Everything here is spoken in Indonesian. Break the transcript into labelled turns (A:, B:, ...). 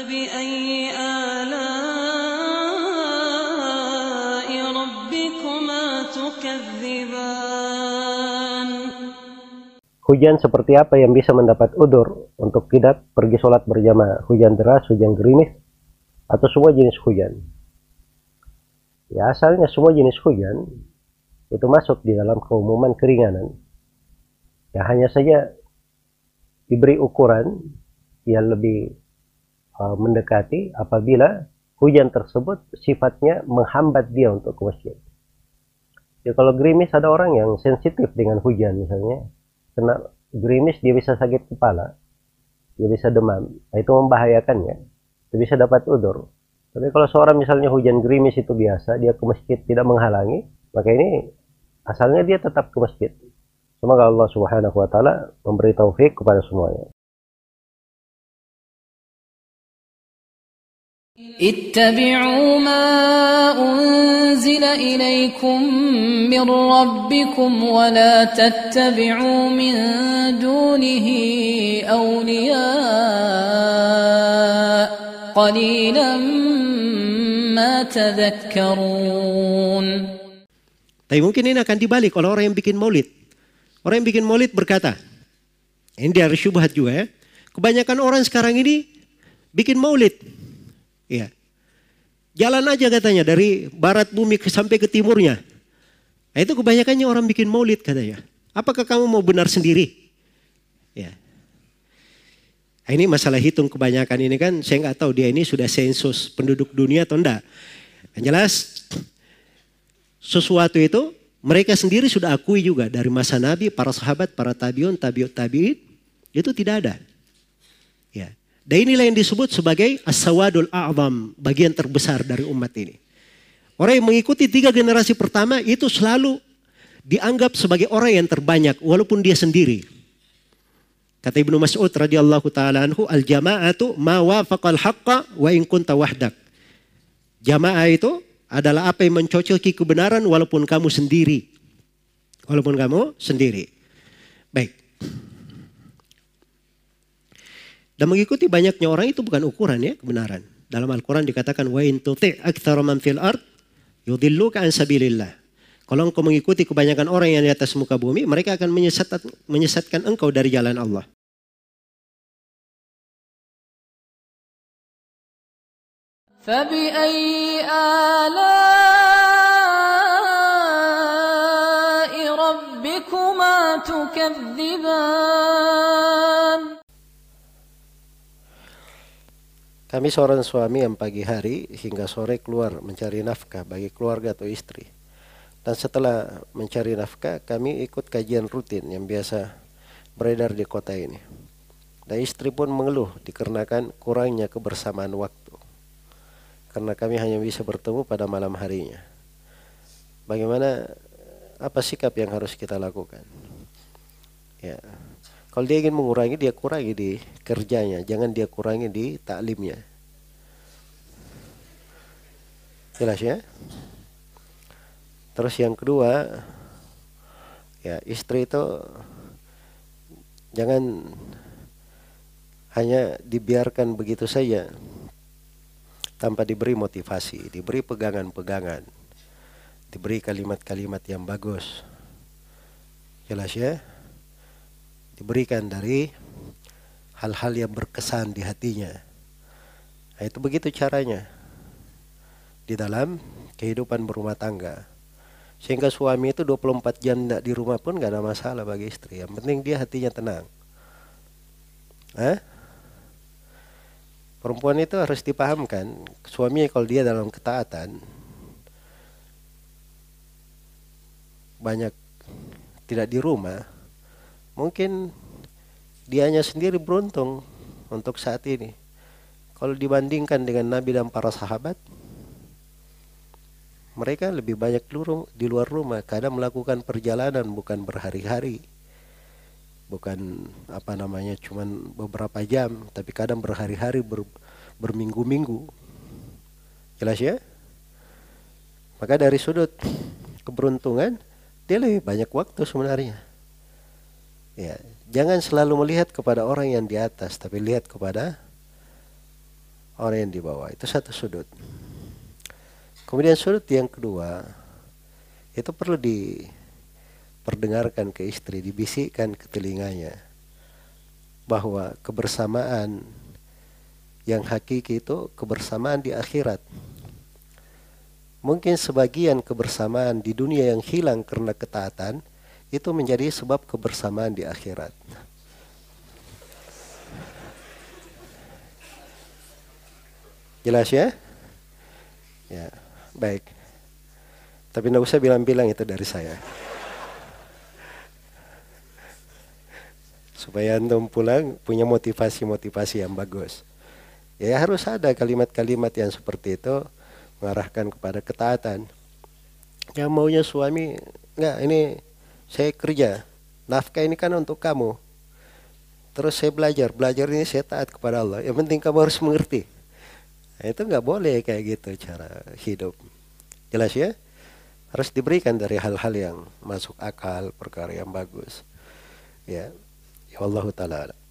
A: فبأي آلاء ربكما تكذبان.
B: Hujan seperti apa yang bisa mendapat udzur untuk tidak pergi sholat berjamaah? Hujan deras, hujan gerimis, atau semua jenis hujan? Ya, asalnya semua jenis hujan itu masuk di dalam keumuman keringanan. Ya, hanya saja diberi ukuran yang lebih mendekati apabila hujan tersebut sifatnya menghambat dia untuk ke masjid. Ya, kalau gerimis, ada orang yang sensitif dengan hujan misalnya. Kena gerimis dia bisa sakit kepala, dia bisa demam, nah, itu membahayakannya, dia bisa dapat udzur. Tapi kalau seorang misalnya hujan gerimis itu biasa, dia ke masjid tidak menghalangi, maka ini asalnya dia tetap ke masjid. Semoga Allah Subhanahu wa taala memberi taufik kepada semuanya.
A: اتبعوا ما أنزل إليكم من ربكم ولا تتبعوا من دونه أولياء قليلا ما تذكرون.
C: Tapi mungkin ini akan dibalik oleh orang yang bikin maulid. Orang yang bikin maulid berkata, ini dari syubhat juga ya, kebanyakan orang sekarang ini bikin maulid. Ya. Jalan aja katanya dari barat bumi sampai ke timurnya. Nah, itu kebanyakannya orang bikin maulid katanya. Apakah kamu mau benar sendiri? Ya. Nah, ini masalah hitung kebanyakan ini kan, saya nggak tahu dia ini sudah sensus penduduk dunia atau enggak. Yang jelas sesuatu itu mereka sendiri sudah akui juga dari masa Nabi, para sahabat, para tabiun, tabiut tabiin, itu tidak ada. Ya. Dan inilah yang disebut sebagai as-sawadul a'zam, bagian terbesar dari umat ini. Orang yang mengikuti 3 generasi pertama itu selalu dianggap sebagai orang yang terbanyak walaupun dia sendiri. Kata Ibnu Mas'ud radhiyallahu taala anhu, al-jama'atu ma wafaqal haqqa wa in kunta wahdak. Jamaah itu adalah apa yang mencocoki kebenaran walaupun kamu sendiri. Walaupun kamu sendiri. Baik. Dan mengikuti banyaknya orang itu bukan ukuran ya kebenaran. Dalam Al-Quran dikatakan wa in tuti' aktsara man fil ard yudilluka an sabilillah. Kalau engkau mengikuti kebanyakan orang yang di atas muka bumi, mereka akan menyesatkan engkau dari jalan Allah.
A: فبأي آلاء ربكما تكذبان.
B: Kami seorang suami yang pagi hari hingga sore keluar mencari nafkah bagi keluarga atau istri. Dan setelah mencari nafkah, kami ikut kajian rutin yang biasa beredar di kota ini. Dan istri pun mengeluh dikarenakan kurangnya kebersamaan waktu. Karena kami hanya bisa bertemu pada malam harinya. Bagaimana, apa sikap yang harus kita lakukan? Ya. Kalau dia ingin mengurangi, dia kurangi di kerjanya, jangan dia kurangi di taklimnya. Jelas ya? Terus yang kedua, ya istri itu jangan hanya dibiarkan begitu saja tanpa diberi motivasi, diberi pegangan-pegangan, diberi kalimat-kalimat yang bagus. Jelas ya? Diberikan dari hal-hal yang berkesan di hatinya. Nah, itu begitu caranya di dalam kehidupan berumah tangga. Sehingga suami itu 24 jam di rumah pun gak ada masalah bagi istri. Yang penting dia hatinya tenang. Perempuan itu harus dipahamkan, suami kalau dia dalam ketaatan banyak tidak di rumah, mungkin dianya sendiri beruntung untuk saat ini. Kalau dibandingkan dengan Nabi dan para sahabat, mereka lebih banyak di luar rumah, kadang melakukan perjalanan bukan berhari-hari, bukan cuman beberapa jam, tapi kadang berhari-hari, berminggu-minggu. Jelas ya? Maka dari sudut keberuntungan, dia lebih banyak waktu sebenarnya. Ya, jangan selalu melihat kepada orang yang di atas, tapi lihat kepada orang yang di bawah. Itu satu sudut. Kemudian sudut yang kedua, itu perlu diperdengarkan ke istri, dibisikkan ke telinganya, bahwa kebersamaan yang hakiki itu kebersamaan di akhirat. Mungkin sebagian kebersamaan di dunia yang hilang karena ketaatan, itu menjadi sebab kebersamaan di akhirat. Jelas ya? Ya, baik. Tapi tidak usah bilang-bilang itu dari saya. Supaya antum pulang punya motivasi-motivasi yang bagus. Ya harus ada kalimat-kalimat yang seperti itu mengarahkan kepada ketaatan. Yang maunya suami, enggak, ini saya kerja, nafkah ini kan untuk kamu. Terus saya belajar ini saya taat kepada Allah. Yang penting kamu harus mengerti. Nah, itu enggak boleh kayak gitu cara hidup. Jelas ya? Harus diberikan dari hal-hal yang masuk akal, perkara yang bagus. Ya, ya Allah Ta'ala.